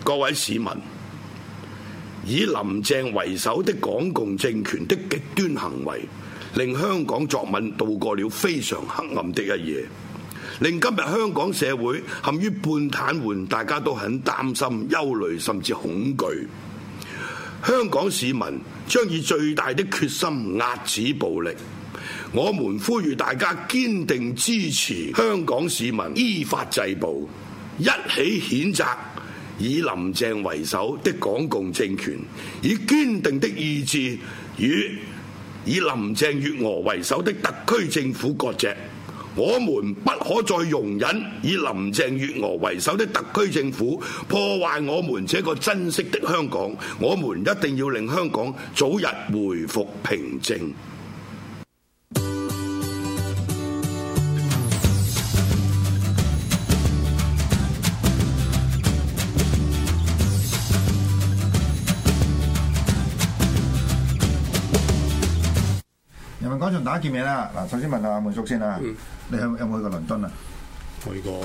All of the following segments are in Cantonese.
各位市民，以林鄭為首的港共政權的極端行為，令香港作文度過了非常黑暗的一夜，令今日香港社會陷於半癱瘓，大家都很擔心、憂慮甚至恐懼。香港市民將以最大的決心壓止暴力。我們呼籲大家堅定支持香港市民依法制暴，一起譴責以林鄭為首的港共政權，以堅定的意志與以林鄭月娥為首的特區政府割席。我們不可再容忍以林鄭月娥為首的特區政府破壞我們這個珍惜的香港。我們一定要令香港早日回復平靜。 人民廣場大家見面啦！嗱，首先問下阿滿叔先啦，你有冇去過倫敦啊？ 去過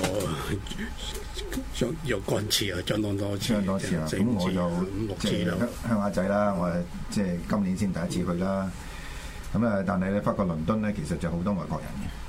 若干次啊，相當多次啊。 咁我就 5、6次啦。 鄉下仔啦，我係即係今年先第一次去啦。咁啊，但係咧，發覺倫敦咧，其實就好多外國人嘅。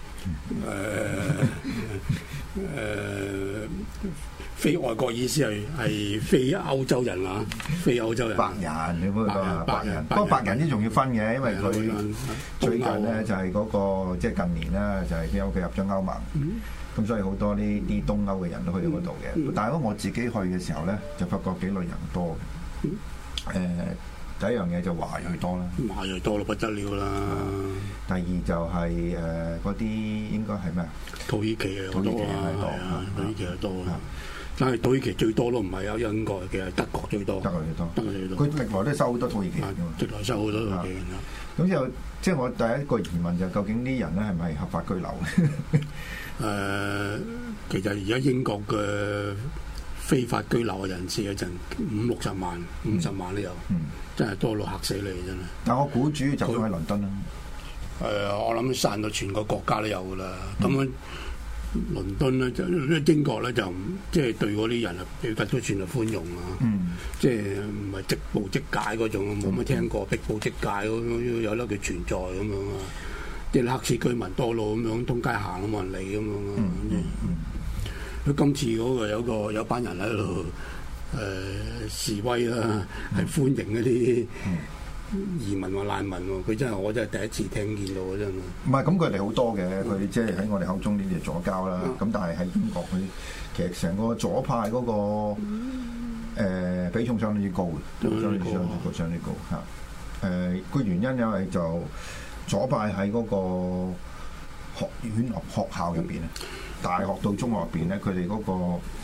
非外國意思係非歐洲人啊，非歐洲人。 白人，你冇講白人。不過白人呢仲要分嘅，因為佢最近咧就係嗰個即係近年啦，就係因為佢入咗歐盟，咁所以好多呢啲東歐嘅人都去到嗰度嘅。但係我自己去嘅時候咧，就發覺幾類人多嘅。第一樣嘢就華裔多啦， 華裔多到不得了啦。 第二就係嗰啲應該係咩啊？ 土耳其啊，土耳其係多啊。但係土耳其最多都唔係有英國嘅，德國最多。德國最多。佢歷來都收好多土耳其人㗎嘛。 歷來收好多土耳其人啦。 咁就即係我第一個疑問就究竟啲人咧係咪合法居留？ 其實而家英國嘅非法居留嘅人士有陣50-60萬、50萬都有，真係多到嚇死你真係。 但我估主要集中喺倫敦啦。 我諗散到全個國家都有㗎啦。咁樣倫敦咧就英國咧就即係對嗰啲人啊，比較都算係寬容啊。即係唔係即捕即解嗰種，冇乜聽過逼捕即解嗰有得佢存在咁樣啊。即係黑市居民多路咁樣，通街行都冇人理咁樣啊。佢今次嗰個有班人喺度示威啦，係歡迎嗰啲移民或難民喎。佢真係我真係第一次聽見到啊！真係唔係咁，佢哋好多嘅，佢即係喺我哋口中呢啲左膠啦。咁但係喺英國佢其實成個左派嗰個比重相當之高嘅，相當之高嚇。個原因因為就左派喺嗰個學院學校入邊咧。大學到中學入邊咧，佢哋嗰個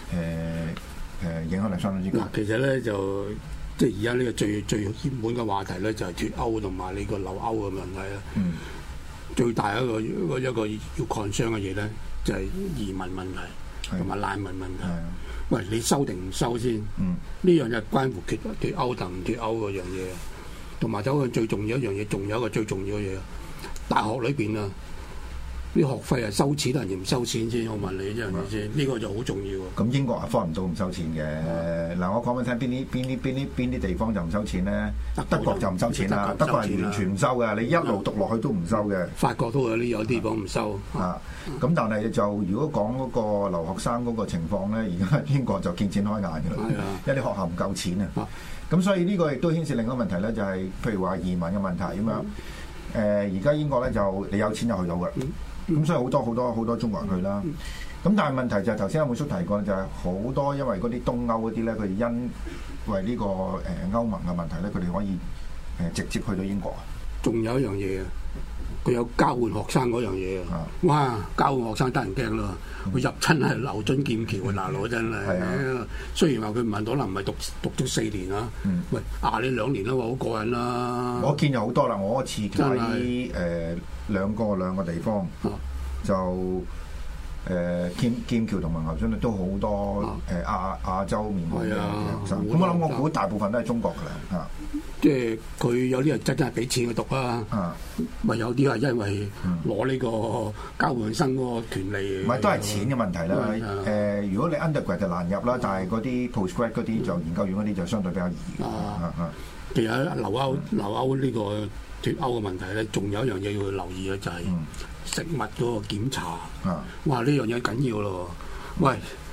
影響力相當之高。 其實咧就即係而家呢個最熱門嘅話題咧，就係脫歐同埋呢個留歐嘅問題啦。最大一個要 concern 嘅嘢咧，就係移民問題同埋難民問題。喂，你收定唔收先？呢樣就關乎脫歐同唔脫歐嗰樣嘢，同埋走向最重要一樣嘢，仲有一個最重要嘅嘢，大學裏邊啊。啲學費係收錢定唔收錢先？我問你真係先，呢個就好重要。 咁英國係方唔到唔收錢嘅。嗱，我講俾你聽，邊啲地方就唔收錢咧？德國就唔收錢啦，德國係完全唔收嘅，你一路讀落去都唔收嘅。 法國都有啲地方唔收。 咁但係就如果講嗰個留學生嗰個情況咧，而家英國就見錢開眼嘅啦，因為啲學校唔夠錢啊。咁所以呢個亦都牽涉另一個問題咧，就係譬如話移民嘅問題咁樣。而家英國咧就你有錢就去到嘅。咁所以好多中國人去啦。咁但係問題就係頭先阿滿叔提過，就係好多因為嗰啲東歐嗰啲咧，佢因為呢個歐盟嘅問題咧，佢哋可以直接去到英國。 仲有一樣嘢啊，佢有交換學生嗰樣嘢啊！哇，交換學生得人驚咯！佢入親係牛津劍橋啊，大佬真係。雖然話佢唔係可能唔係讀咗4年啊。喂，你2年啦，好過癮啦！ 我見有好多啦，我次喺兩個地方就劍橋同埋牛津都好多亞洲面孔嘅學生。咁我諗我估大部分都係中國㗎啦， 即係佢有啲人真係俾錢去讀啊，咪有啲係因為攞呢個交換生嗰個權利。 唔係都係錢嘅問題啦。如果你 undergrad 就難入啦，但係嗰啲 postgrad 嗰啲就研究院嗰啲就相對比較易。 其實留歐呢個脫歐嘅問題咧，仲有一樣嘢要去留意嘅就係食物嗰個檢查。哇！呢樣嘢緊要咯。喂，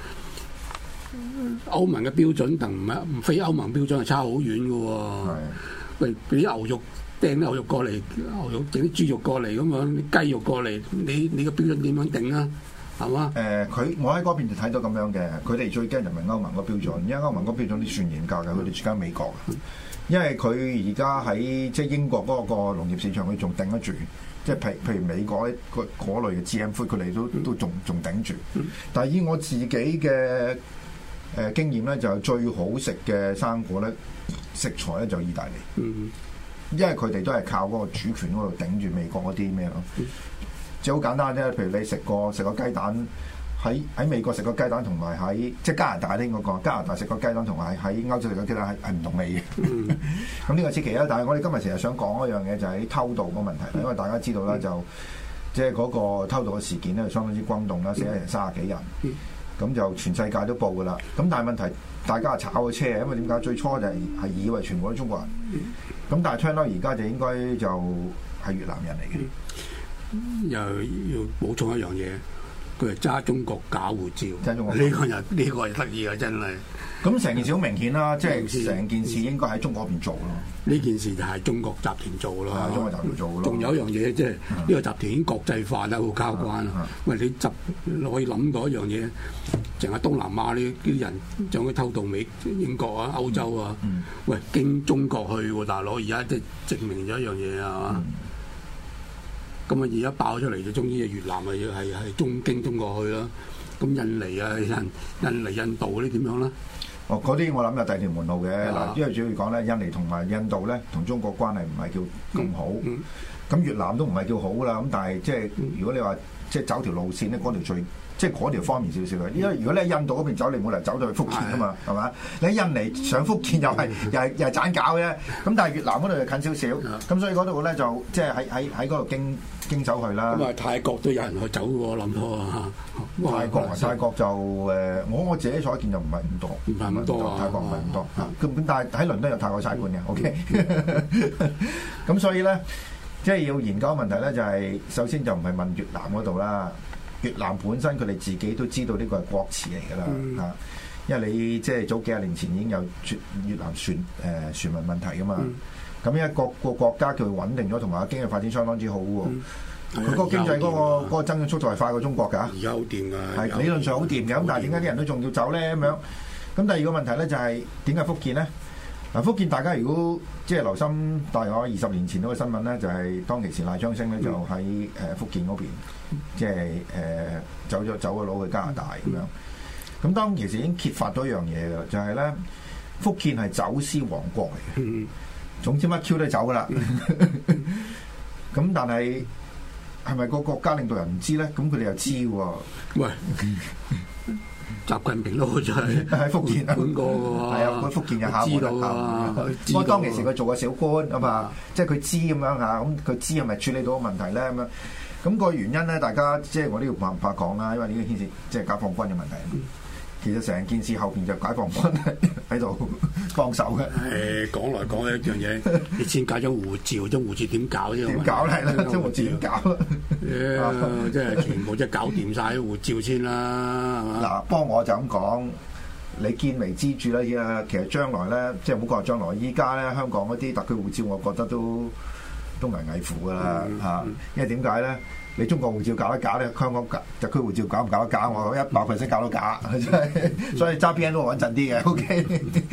歐盟嘅標準同唔非歐盟標準係差好遠嘅喎。喂，俾啲牛肉掟啲牛肉過嚟，牛肉整啲豬肉過嚟咁樣，啲雞肉過嚟，你個標準點樣定啊？係嘛？ 我喺嗰邊就睇到咁樣嘅，佢哋最驚就唔係歐盟個標準，因為歐盟個標準啲算嚴格嘅，佢哋住緊美國。因為佢而家喺即係英國嗰個農業市場，佢仲頂得住。即係譬如美國嗰類嘅 GM food，佢哋都仲頂住。但係以我自己嘅經驗咧，就最好食嘅生果咧，食材咧就意大利。因為佢哋都係靠嗰個主權嗰度頂住美國嗰啲咩咯。即係好簡單啫，譬如你食個雞蛋。喺美國食個雞蛋同埋喺即係加拿大呢個加拿大食個雞蛋同埋喺歐洲食個雞蛋係唔同味嘅。咁呢個此其一，但係我哋今日成日想講一樣嘢就係偷渡個問題，因為大家知道啦，就即係嗰個偷渡嘅事件咧，相當之轟動啦，死咗人30幾人，咁就全世界都報㗎啦。咁但係問題大家係炒個車，因為點解最初就係以為全部都中國人，咁但係 turn out 而家就應該就係越南人嚟嘅。 又要補充一樣嘢。佢係揸中國假護照，呢個係得意啊！真係。 咁成件事好明顯啦，即係成件事應該喺中國嗰邊做咯。 呢件事就係中國集團做咯， 中國集團做咯。 仲有一樣嘢，即係呢個集團已經國際化啦，好交關。喂，你可以諗到一樣嘢，淨係東南亞呢啲人將佢偷渡英國啊、歐洲啊，喂，經中國去喎，大佬而家即係證明咗一樣嘢啊！咁啊！而家爆出嚟就終於越南係經中國去啦。咁印尼啊、印度嗰啲點樣啦？ 嗰啲我諗有第二條門路嘅嗱，因為主要講咧，印尼同埋印度咧同中國關係唔係叫咁好。咁越南都唔係叫好啦。咁但係即係如果你話即係走條路線咧，嗰條最即係嗰條方便少少嘅。因為如果你喺印度嗰邊走，你冇理由走到去福建㗎嘛，係嘛？你喺印尼上福建又係盞搞嘅。咁但係越南嗰度就近少少。咁所以嗰度咧就即係喺嗰度經走去啦。咁啊， 泰國都有人去走喎，諗到啊。 泰國就我自己所見就唔係咁多， 唔係咁多。 泰國唔係咁多。咁但係喺倫敦有泰國差館嘅，OK。咁所以咧，即係要研究問題咧，就係首先就唔係問越南嗰度啦。越南本身佢哋自己都知道呢個係國恥嚟㗎啦，因為你即係早幾十年前已經有越南船民問題㗎嘛。咁因為各個國家佢穩定咗，同埋經濟發展相當之好喎。佢個經濟嗰個增長速度係快過中國㗎。而家好掂㗎，係理論上好掂嘅。咁但係點解啲人都仲要走咧？咁樣咁第二個問題咧就係點解福建咧？嗱，福建大家如果即係留心，大概20年前嗰個新聞咧，就係當其時賴昌星咧就喺福建嗰邊，即係走咗佬去加拿大咁樣。咁當其時已經揭發咗一樣嘢㗎，就係咧福建係走私王國嚟嘅。總之乜 Q 都走㗎啦。咁但係係咪個國家領導人唔知咧？咁佢哋又知喎。喂！ 習近平都好似喺福建管過嘅喎， 係啊，佢福建嘅下知道啊。不過當其時佢做個小官啊嘛，即係佢知咁樣嚇，咁佢知係咪處理到個問題咧咁樣？咁個原因咧，大家即係我都要唔怕講啦，因為呢個牽涉即係解放軍嘅問題。其實成件事後邊就解放軍喺度幫手嘅。 講來講去一樣嘢，你先解咗護照，張護照點搞啫？ 點搞咧？張護照點搞？ 即係全部即係搞掂晒啲護照先啦，係嘛？ 嗱，不過我就咁講，你見微知著啦。依家其實將來咧，即係唔好講將來，依家咧香港嗰啲特區護照，我覺得都危危乎㗎啦嚇。因為點解咧？你中國護照搞得假咧，香港特區護照搞唔搞得假？我100%搞到假，真係。所以揸 BNO 都穩陣啲嘅。OK。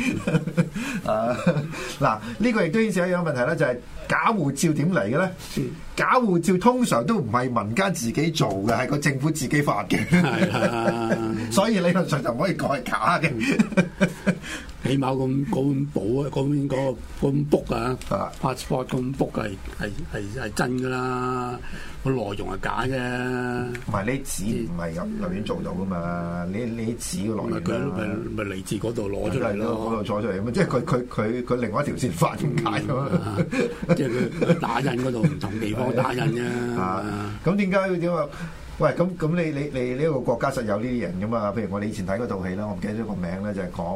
嗱，呢個亦都牽涉一樣問題咧，就係假護照點嚟嘅咧？假護照通常都唔係民間自己做嘅，係個政府自己發嘅。所以理論上就唔可以講係假嘅。 起碼嗰本簿啊，嗰本 book 啊 passport 嗰本 book 係真㗎啦，個內容係假啫。 唔係你紙唔係咁隨便做到㗎嘛，你紙嘅內容咪嚟自嗰度攞出嚟咯， 嗰度攞出嚟咁，即係佢另外一條線發點解咁即係佢打印嗰度唔同地方打印啫。 咁點解點話？喂，咁你呢個國家實有呢啲人㗎嘛？譬如我哋以前睇嗰套戲啦，我唔記得咗個名咧，就係講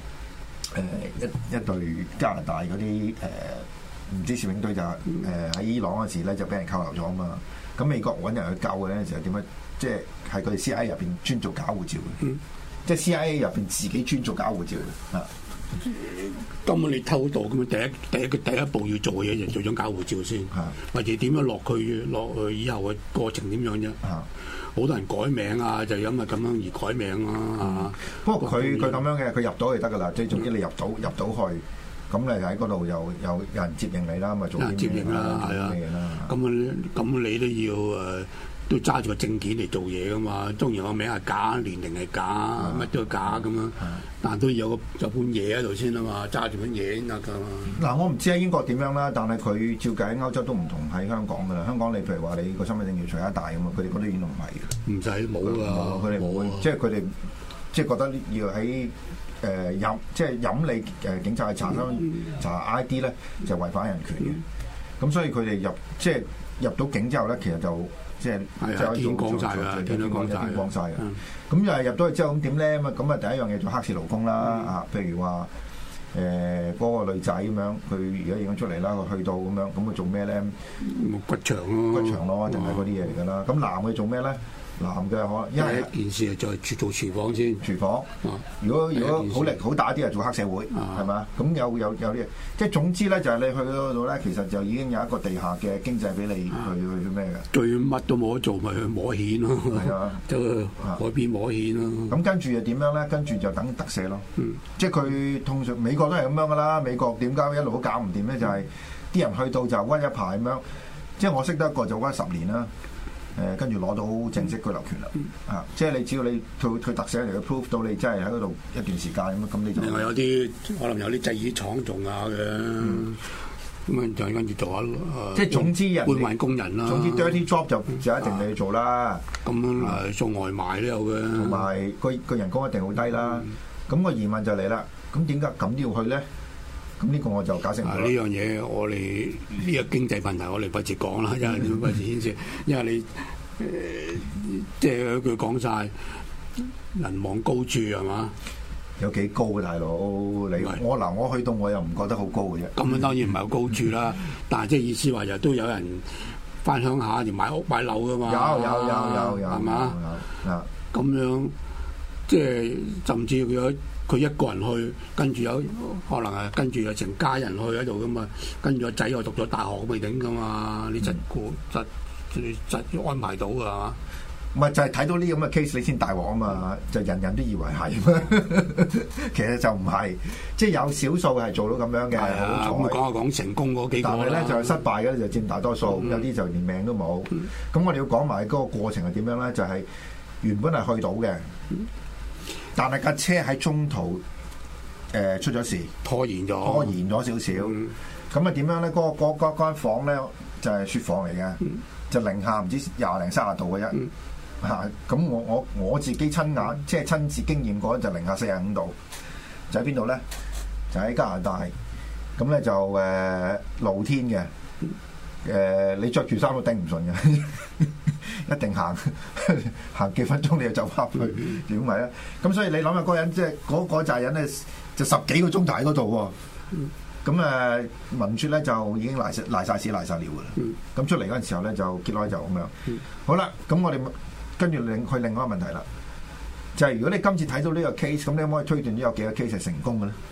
一隊加拿大嗰啲唔知攝影隊就喺伊朗嗰時咧就俾人扣留咗啊嘛。咁美國揾人去救嘅咧就點樣？即係係佢哋 CIA 入邊專做假護照嘅，即係 CIA 入邊自己專做假護照嘅啊。 根本你偷渡咁啊！第一步要做嘅嘢就做張假護照先，或者點樣落去以後嘅過程點樣啫？好多人改名啊，就因為咁樣而改名啊。 不過佢咁樣嘅，佢入到就得噶啦。即係總之你入到去，咁你喺嗰度有人接應你啦，咪做啲接應啦，係啊。咁你都要都揸住個證件嚟做嘢噶嘛，當然個名係假，年齡係假，乜都係假咁樣，但都要有本嘢喺度先啊嘛，揸住本嘢先得噶嘛。 嗱，我唔知喺英國點樣啦，但係佢照計喺歐洲都唔同喺香港噶啦。香港你譬如話你個身份證要除一大咁嘛，佢哋嗰啲已經唔係嘅。唔使冇噶， 佢哋冇，即係佢哋即係覺得要喺飲你警察去查 ID 咧，就違反人權嘅。咁所以佢哋入到境之後咧，其實就即係天光晒㗎，天都光晒嘅。咁又係入到去之後咁點咧？咁啊第一樣嘢做黑市勞工啦啊！譬如話嗰個女仔咁樣，佢而家已經出嚟啦，佢去到咁樣，咁佢做咩咧？ 骨場咯， 定係嗰啲嘢嚟㗎啦。咁男嘅做咩咧？男嘅可能因為一件事就係做廚房先， 廚房。如果好力好大啲，係做黑社會，係嘛？咁有啲，即係總之咧，就係你去嗰度咧，其實就已經有一個地下嘅經濟俾你去咩嘅。 最乜都冇得做，咪去摸蜆咯。係啊，就海邊摸蜆咯。咁跟住又點樣咧？跟住就等特赦咯。即係佢通常美國都係咁樣噶啦。美國點解一路都搞唔掂咧？就係啲人去到就屈一排咁樣。即係我識得一個就屈10年啦。跟住攞到正式居留權啦，即係你只要你佢特赦嚟嘅 proof 到你真係喺嗰度一段時間咁你就另外有啲可能有啲製衣廠做下嘅，咁就跟住做下即係總之人搬運工人啦。 總之 dirty job 就一定你去做啦。 咁送外賣都有嘅， 同埋個人工一定好低啦。咁個疑問就嚟啦，咁點解咁都要去咧？咁呢個我就解釋唔到。 呢樣嘢我哋呢個經濟問題，我哋費事講啦，因為費事牽涉，因為你即係佢講晒人望高處係嘛？ 有幾高啊，大佬？我去到我又唔覺得好高嘅啫。 咁當然唔係好高處啦，但係即係意思話又都有人翻鄉下就買屋買樓噶嘛？ 有係嘛？咁樣即係甚至佢一個人去，跟住有可能係跟住有成家人去喺度噶嘛，跟住個仔又讀咗大學未定噶嘛，你實安排到噶嘛？ 唔係就係睇到呢咁嘅 case 你先大鑊啊嘛，就人人都以為係，其實就唔係，即係有少數係做到咁樣嘅。 咁講成功嗰幾個， 但係咧就係失敗嘅就佔大多數，有啲就連命都冇。咁我哋要講埋嗰個過程係點樣咧？就係原本係去到嘅。但係架車喺中途出咗事， 拖延咗少少。咁啊點樣咧？嗰間房咧就係雪房嚟嘅，就零下唔知20零30度嘅啫。咁我自己親眼即係親自經驗過就零下45度。就喺邊度咧？就喺加拿大。咁咧就露天嘅。你着住衫都頂唔順嘅。一定行幾分鐘你就走翻去，點咪咧？咁所以你諗下嗰人即係嗰扎人咧，就10幾個鐘頭喺嗰度喎。咁聞說咧就已經賴晒屎賴晒尿噶啦。咁出嚟嗰陣時候咧就結開就咁樣。好啦，咁我哋跟住去另外一個問題啦，就係如果你今次睇到呢個 case，咁你可唔可以推斷呢有幾個 case 係成功嘅咧？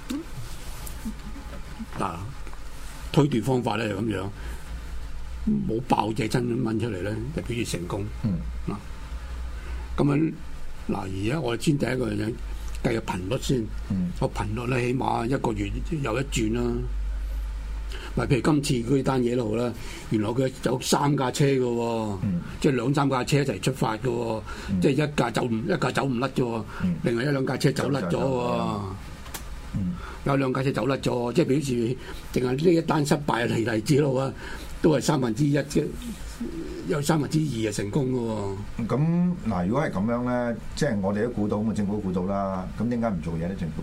嗱，推斷方法咧就咁樣。冇爆隻真蚊出嚟咧，就表示成功。咁樣嗱，而家我哋先第一個嘢計個頻率先。個頻率咧，起碼一個月有一轉啦。咪譬如今次嗰單嘢都好啦，原來佢有3架車嘅喎，即係2、3架車一齊出發嘅喎，即係一架走唔甩嘅喎，另外1、2架車走甩咗喎。 有兩架車走甩咗，即係表示淨係呢一單失敗嘅例子咯喎，都係1/3啫，有2/3係成功嘅喎。 咁嗱，如果係咁樣咧，即係我哋都估到，咁政府都估到啦。咁點解唔做嘢咧？政府？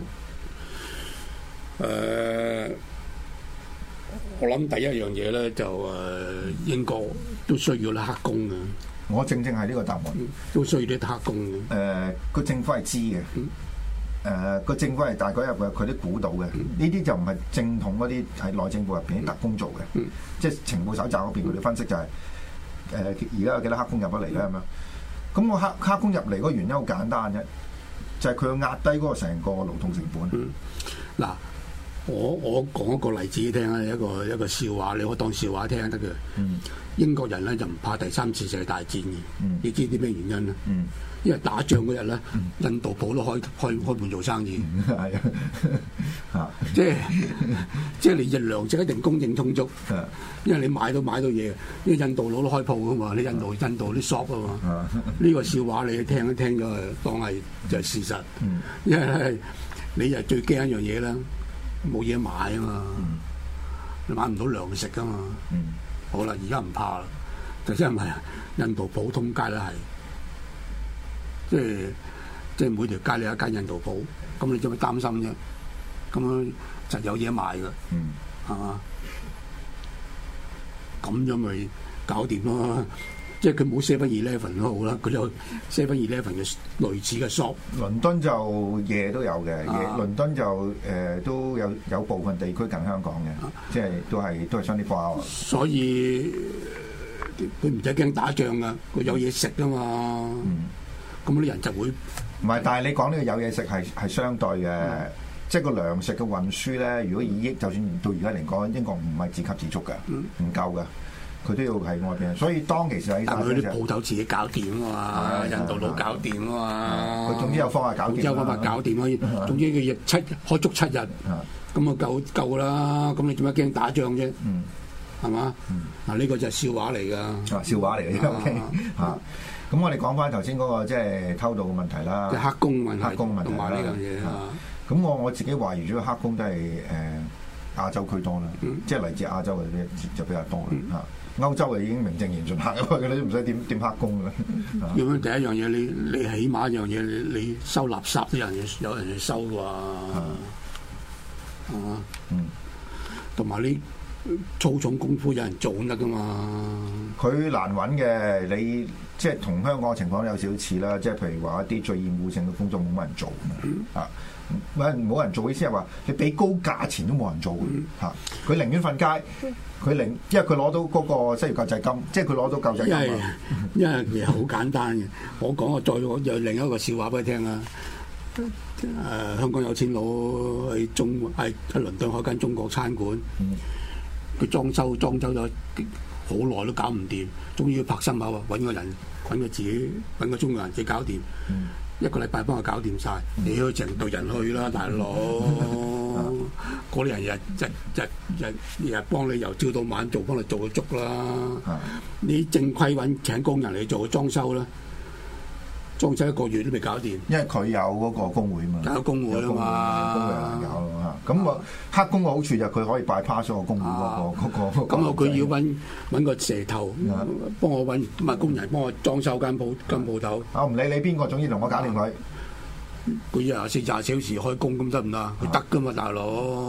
我諗第一樣嘢咧就英國都需要啲黑工嘅。 我正係呢個答案， 都需要啲黑工嘅。 個政府係知嘅。個政府係大概入嘅，佢都估到嘅。呢啲就唔係正統嗰啲喺內政部入邊啲特工做嘅，即係情報搜集嗰邊佢哋分析就係而家有幾多黑工入咗嚟咧咁樣。咁我黑工入嚟嗰個原因好簡單啫，就係佢要壓低嗰個成個勞動成本。 嗱，我講一個例子聽啊，一個笑話，你可以當笑話聽得嘅。英國人咧就唔怕第3次世界大戰嘅。你知啲咩原因咧？因為打仗嗰日咧，印度鋪都開門做生意。係啊，即係你嘅糧食一定供應充足。因為你買到嘢，因為印度佬都開鋪噶嘛，你印度啲 shop 啊嘛。呢個笑話你聽一聽咗，當係就係事實。因為你就最驚一樣嘢啦，冇嘢買啊嘛，你買唔到糧食噶嘛。好啦，而家唔怕啦，就因為印度普通街都係，即係每條街你有一間印度鋪，咁你做咩擔心啫？咁樣就有嘢賣㗎，係嘛？咁樣咪搞掂咯。即係佢冇 7-Eleven 都好啦，佢有 7-Eleven 嘅類似嘅 shop。倫敦就嘢都有嘅，倫敦就都有部分地區近香港嘅，即係都係雙啲花。所以佢唔使驚打仗噶，佢有嘢食噶嘛。咁啲人就會唔係，但係你講呢個有嘢食係相對嘅，即係個糧食嘅運輸咧。如果就算到而家嚟講，英國唔係自給自足嘅，唔夠嘅。佢都要喺外邊，所以當其時喺但係佢啲鋪頭自己搞掂啊嘛，印度佬搞掂啊嘛，佢總之有方法搞掂，有方法搞掂可以。總之佢開足7日，咁啊夠啦。咁你做乜驚打仗啫？係嘛？嗱呢個就係笑話嚟㗎，笑話嚟嘅。OK 嚇。咁我哋講翻頭先嗰個即係偷渡嘅問題啦，即係黑工問題同埋呢樣嘢啊。咁我自己懷疑咗黑工都係亞洲區多啦，即係嚟自亞洲嘅就比較多啦嚇。歐洲啊已經名正言順行咗去嘅，你都唔使點黑工嘅。咁樣第一樣嘢，你起碼一樣嘢，你收垃圾都有人去收㗎，係嘛？同埋你粗重功夫有人做得㗎嘛？佢難揾嘅，你即係同香港嘅情況有少少似啦。即係譬如話一啲最厭惡性嘅工作冇乜人做啊。冇人做，意思係話你俾高價錢都冇人做嚇，佢寧願瞓街，因為佢攞到嗰個失業救濟金，即係佢攞到救濟金。因為其實好簡單嘅，我有另一個笑話俾你聽啊。香港有錢佬喺倫敦開間中國餐館，佢裝修咗好耐都搞唔掂，終於要拍心口啊！揾個中國人自己搞掂。1個禮拜幫佢搞掂晒，你去成隊人去啦，大佬！嗰啲人日幫你由朝到晚幫你做到足啦。你正規請工人嚟做裝修啦，裝修1個月都未搞掂。因為佢有嗰個工會嘛，有工會啊嘛，工會人搞啊嘛。咁啊，黑工嘅好處就係佢可以bypass咗個工會嗰個。咁佢要揾個蛇頭幫我揾工人幫我裝修間鋪頭。我唔理你邊個，總之同我搞掂佢。佢24小時開工咁得唔得？佢得噶嘛，大佬。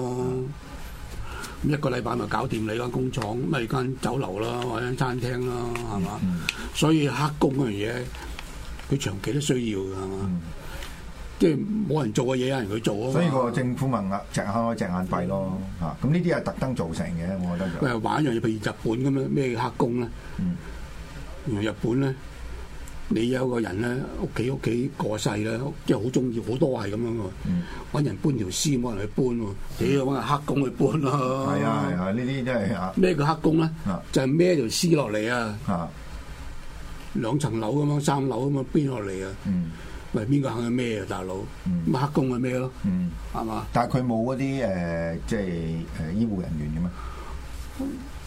咁1個禮拜咪搞掂你間工廠，咪間酒樓啦，或者餐廳啦，係嘛？所以黑工嗰樣嘢，佢長期都需要㗎，係嘛？即係冇人做嘅嘢，有人去做啊！所以個政府咪隻眼開隻眼閉咯嚇。咁呢啲係特登造成嘅，我覺得就。喂，玩一樣嘢，譬如日本咁樣咩黑工咧？日本咧，你有個人咧，屋企過世咧，即係好中意，好多係咁樣喎。揾人搬條屍，冇人去搬喎，你要揾個黑工去搬咯。係啊，呢啲真係啊！咩叫黑工咧？就係孭條屍落嚟啊！2層樓咁樣，3樓咁樣搬落嚟啊！喂，邊個肯去孭啊，大佬？咁黑工去孭咯，係嘛？但係佢冇嗰啲即係醫護人員嘅咩？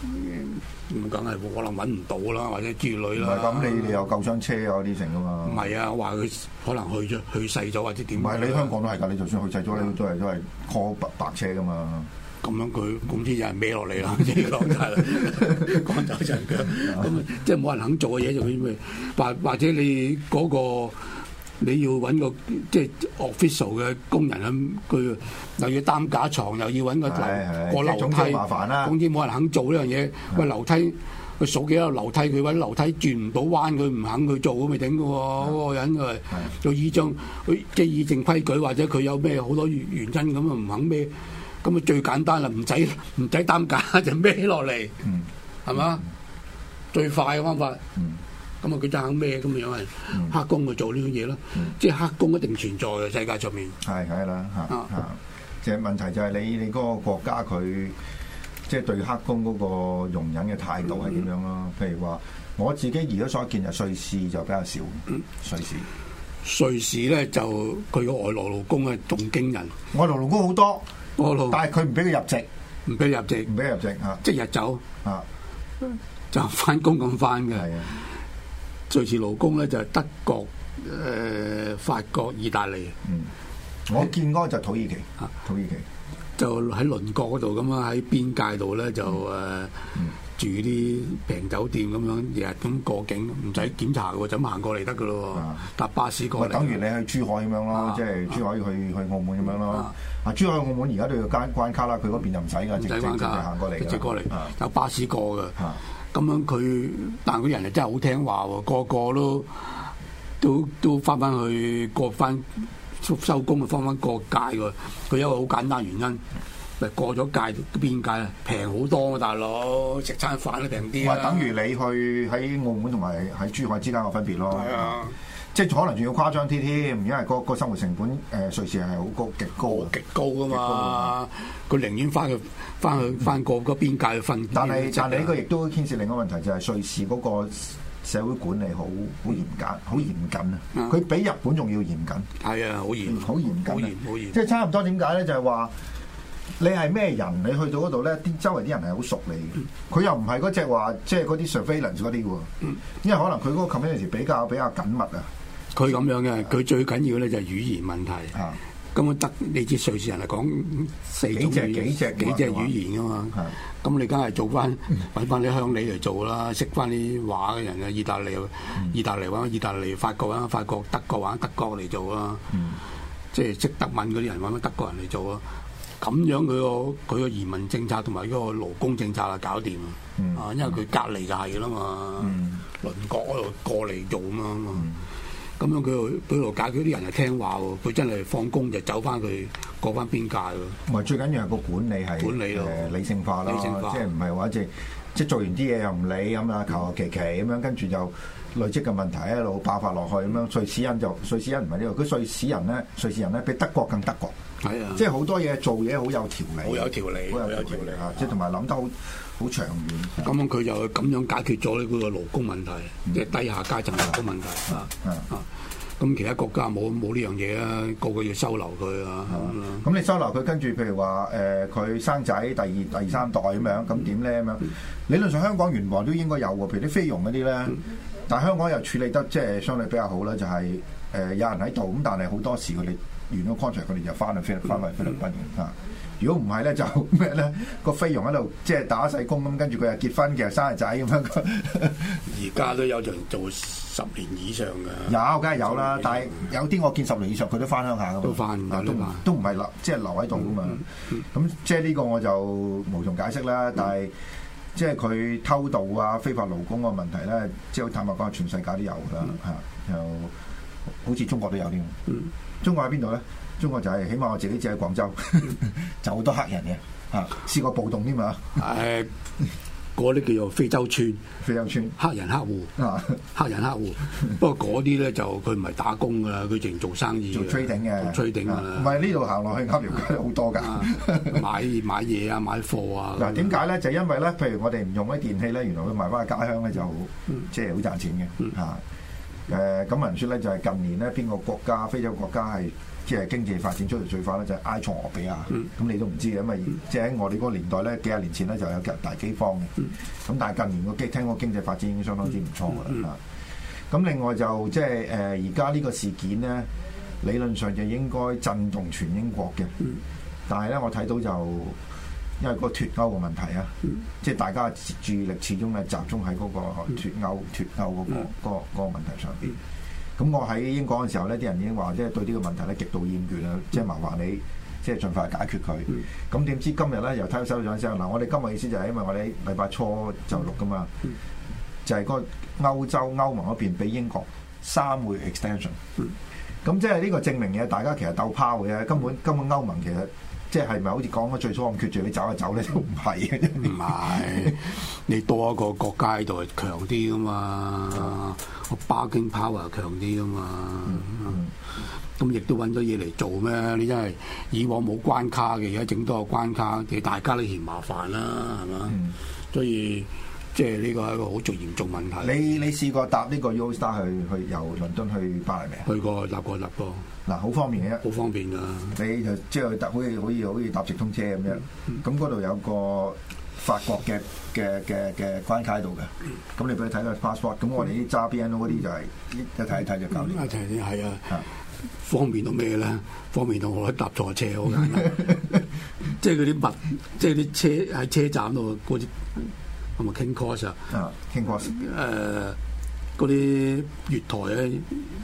咁梗係可能揾唔到啦，或者之類啦。 唔係咁，你有救傷車啊啲成噶嘛？ 唔係啊，話佢可能去世咗或者點？ 唔係你香港都係㗎，你就算去世咗，你都係 call 白車噶嘛。 咁樣佢總之有人孭落嚟啦，即係講真啦，趕走陣腳，咁即係冇人肯做嘅嘢就咩？或者你嗰個你要揾個即係 official 嘅工人咁，佢又要擔架床，又要揾個過樓梯， 麻煩啦。 總之冇人肯做呢樣嘢。喂，樓梯佢數幾多樓梯，佢揾樓梯轉唔到彎，佢唔肯去做咁咪頂嘅喎。嗰個人佢有依張佢即係議政規矩，或者佢有咩好多原因咁啊唔肯孭。咁啊最簡單啦，唔使擔架就孭落嚟，係嘛？最快嘅方法。咁啊佢就肯孭咁樣係黑工去做呢樣嘢咯。即係黑工一定存在嘅世界上面。 係啦嚇。即係問題就係你嗰個國家佢即係對黑工嗰個容忍嘅態度係點樣咯？譬如話我自己而家所見就瑞士就比較少。 瑞士咧就佢個外來勞工啊仲驚人。 外來勞工好多。但係佢唔俾佢入籍， 唔俾入籍嚇， 即日走嚇， 就翻工咁翻嘅。瑞士勞工咧就係德國、法國、意大利。 我見嗰個就土耳其，土耳其就喺鄰國嗰度咁啊，喺邊界度咧就住啲平酒店咁樣，日日咁過境，唔使檢查嘅喎，就咁行過嚟得嘅咯喎，搭巴士過嚟。 等於你去珠海咁樣咯，即係珠海去澳門咁樣咯。珠海澳門而家都要關卡啦，佢嗰邊就唔使㗎，直接行過嚟， 直接過嚟，有巴士過嘅。咁樣佢，但係嗰人又真係好聽話喎，個個都翻去過翻收工啊，翻過界喎。佢有一個好簡單原因。過咗界邊界啊，平好多啊，大佬食餐飯都平啲啊！ 等於你去喺澳門同埋喺珠海之間嘅分別咯。 係啊， 即係可能仲要誇張啲添，因為個生活成本瑞士係好高，極高噶嘛。佢寧願翻過嗰邊界去瞓。 但係呢個亦都牽涉另一個問題，就係瑞士嗰個社會管理好嚴謹啊！佢比日本仲要嚴謹。係啊，好嚴謹。即係差唔多點解咧？就係話。你係咩人？你去到嗰度咧，啲周圍啲人係好熟你嘅。佢又唔係嗰隻話，即係嗰啲 surveillance 嗰啲喎。因為可能佢嗰個 community 比較緊密啊。佢咁樣嘅，佢最緊要咧就係語言問題。咁得你知瑞士人係講幾隻語言噶嘛？咁你梗係做翻揾翻啲鄉里嚟做啦，識翻啲話嘅人啊，意大利揾意大利，法國揾法國，德國揾德國嚟做啦。即係識德文嗰啲人揾翻德國人嚟做啊。咁樣佢個移民政策同埋嗰個勞工政策啊搞掂啊！因為佢隔離就係啦嘛，鄰國嗰度過嚟做啊嘛。咁樣佢度解決啲人係聽話喎，佢真係放工就走翻去過翻邊界喎。唔係最緊要係個管理係理性化啦，即係唔係話即係做完啲嘢又唔理咁啊，求求其其咁樣，跟住就累積嘅問題一路爆發落去咁樣。瑞士人唔係呢個，佢瑞士人咧比德國更德國。係啊，即係好多嘢做嘢好有條理，好有條理啊！即係同埋諗得好長遠。咁樣佢就咁樣解決咗呢個勞工問題，即係低下階層勞工問題。咁其他國家冇呢樣嘢啊，個個要收留佢啊。咁你收留佢，跟住譬如話佢生仔第二三代咁樣，咁點咧咁樣？理論上香港原來都應該有喎，譬如啲菲傭嗰啲咧，但係香港又處理得即係相對比較好啦，就係有人喺度咁，但係好多時佢哋。完咗 contract 佢哋就翻去菲律賓嘅。如果唔係咧就咩咧，個菲傭喺度即係打細工咁，跟住佢又結婚嘅生日仔咁樣。而家都有人做10年以上嘅。有，梗係有啦，但係有啲我見10年以上佢都翻鄉下噶嘛。都翻都唔係留，即係留喺度噶嘛。咁即係呢個我就無從解釋啦。但係即係佢偷渡啊、非法勞工個問題咧，即係坦白講，全世界都有㗎啦嚇。又好似中國都有添。中國喺邊度咧？中國就係起碼我自己住喺廣州，就好多黑人嘅嚇，試過暴動添嘛。嗰啲叫做非洲村，黑人黑戶，黑人黑戶。不過嗰啲咧就佢唔係打工㗎啦，佢淨做生意，做 trading 嘅，trading 㗎啦。唔係呢度行落去鴨寮街好多㗎，買嘢啊，買貨啊。嗱點解咧？就因為咧，譬如我哋唔用啲電器咧，原來佢賣翻去家鄉咧就即係好賺錢嘅嚇。咁聞説咧就係近年咧邊個國家非洲國家係即係經濟發展速度最快咧，就係埃塞俄比亞。咁你都唔知嘅，因為即係喺我哋嗰個年代咧，幾廿年前咧就有大饑荒嘅。咁但係近年聽講經濟發展已經相當之唔錯㗎啦。咁另外就即係而家呢個事件咧，理論上就應該震動全英國嘅。但係咧，我睇到就因為個脱歐嘅問題啊，即係大家注意力始終係集中喺嗰個脱歐嗰個問題上邊。咁我喺英國嘅時候咧，啲人已經話即係對呢個問題咧極度厭倦啦，即係麻煩你即係盡快解決佢。咁點知今日咧又睇到收咗聲嗱，我哋今日意思就係因為我哋禮拜初就錄噶嘛，就係個歐盟嗰邊俾英國3個月 extension。咁即係呢個證明嘢，大家其實鬥拋嘅，根本歐盟其實即係咪好似講咗最初咁決絕你走就走咧，都唔係嘅。 唔係，你多一個國家喺度係強啲噶嘛，個bargaining power 強啲噶嘛。咁亦都揾咗嘢嚟做咩？你真係以往冇關卡嘅，而家整多個關卡，其實大家都嫌麻煩啦，係嘛？所以即係呢個係一個好嚴重問題。 你試過搭呢個 Eurostar 去由倫敦去巴黎未？ 去過，搭過。 嗱，好方便嘅， 好方便㗎。 你就即係搭好似搭直通車咁樣。咁嗰度有個法國嘅關卡喺度嘅。咁你俾佢睇個 passport。咁我哋啲揸 BNO 嗰啲就係一睇一睇就搞掂。 一睇係啊，方便到咩咧？方便到我搭錯車好簡單。即係嗰啲即係啲車喺車站度嗰啲。係咪 King Cross 啊 ？King Cross 嗰啲月台咧，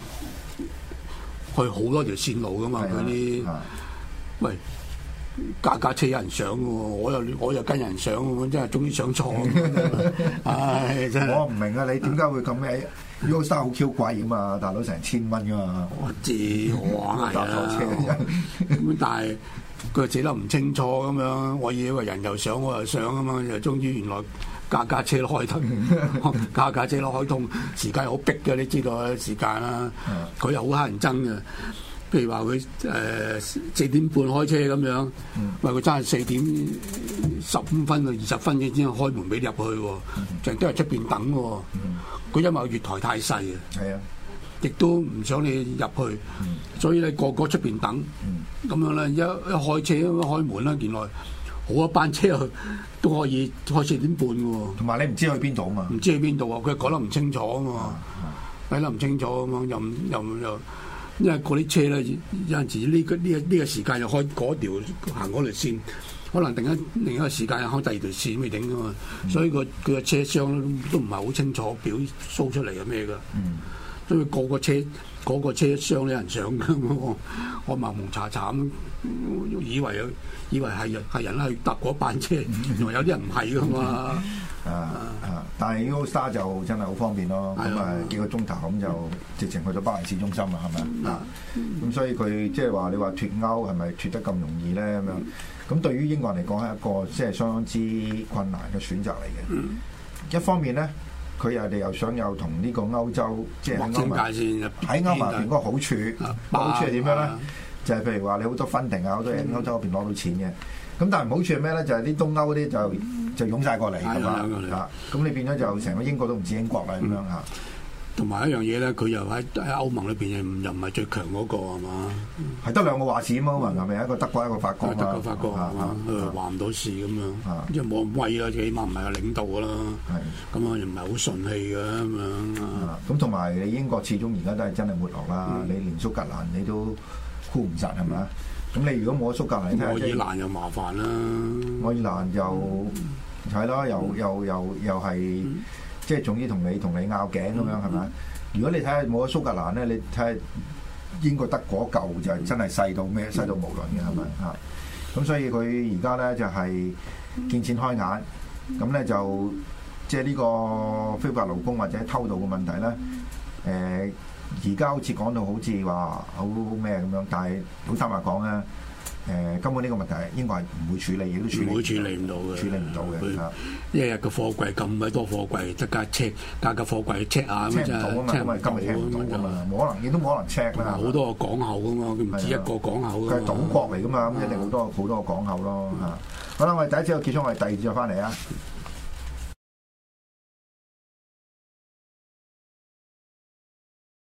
去好多條線路噶嘛，嗰啲喂架車有人上喎，我又跟人上喎，真係終於上錯。唉，真係我唔明啊！你點解會咁咩？Eurostar 好 Q 貴噶嘛，大佬成1000蚊噶嘛。 我知，我搭錯車咁，但係佢寫得唔清楚咁樣，我以為人又上我又上啊嘛，又終於原來。架車都開通，架車都開通，時間好逼嘅，你知道時間啦。佢又好乞人憎嘅，譬如話佢4點半開車咁樣，喂佢真係4點15分到20分先開門俾你入去喎，成日都係出邊等喎。佢因為月台太細啊，亦都唔想你入去，所以你個出邊等，咁樣咧一開車開門啦，原來。好一班車都可以開4點半嘅喎， 同埋你唔知去邊度啊嘛？ 唔知去邊度啊？佢講得唔清楚啊嘛，睇得唔清楚咁樣，又，因為嗰啲車咧有陣時呢個時間又開嗰條行嗰條線，可能另一個時間又開第二條線未定嘅嘛，所以佢嘅車廂都唔係好清楚表 show 出嚟係咩㗎，所以個個車廂有人上嘅，我蒙蒙查查咁以為係人去搭嗰班車，原來有啲人唔係噶嘛。 但係 Eurostar 就真係好方便咯。咁幾個鐘頭咁就直情去到巴黎市中心啦，係咪啊？咁所以佢即係話你話脱歐係咪脱得咁容易咧？咁樣咁對於英國人嚟講係一個即係相當之困難嘅選擇嚟嘅。一方面咧。佢又想同呢個歐洲即係歐盟喺歐盟入邊嗰個好處，好處係點樣咧？就係譬如話你好多分定啊，好多嘢歐洲嗰邊攞到錢嘅。咁但係唔好處係咩咧？就係啲東歐嗰啲就湧晒過嚟㗎嘛。咁你變咗就成個英國都唔似英國啦咁樣嚇。 同埋一樣嘢咧，佢又喺歐盟裏邊又唔係最強嗰個係嘛？ 係得2個話事啊嘛，歐盟係咪一個德國一個法國？ 德國法國係嘛？話唔到事咁樣，即係冇咁威啦，起碼唔係個領導㗎啦。咁啊，又唔係好順氣嘅咁樣。 咁同埋你英國始終而家都係真係沒落啦，你連蘇格蘭你都箍唔實係咪啊？咁你如果冇蘇格蘭， 愛爾蘭又麻煩啦。 愛爾蘭又係咯，又係。即係總之同你拗頸咁樣係咪？如果你睇下冇咗蘇格蘭咧，你睇下英國得嗰嚿就係真係細到咩，細到無論嘅係咪嚇？咁所以佢而家咧就係見錢開眼，咁咧就即係呢個非法勞工或者偷渡嘅問題咧，而家好似講到好似話好咩咁樣，但係好坦白講咧。根本呢個問題英國係唔會處理，亦都處理唔到嘅。處理唔到嘅。 一日個貨櫃咁鬼多貨櫃，即架貨櫃 check 下咁啫。check 唔到啊嘛，今日 check 唔到啊嘛，冇可能，亦都冇可能 check 啦。 好多個港口噶嘛，佢唔止一個港口。 佢係島國嚟噶嘛，咁一定好多個港口咯嚇。好啦，我哋第一節就結束，我哋第二節再翻嚟啊。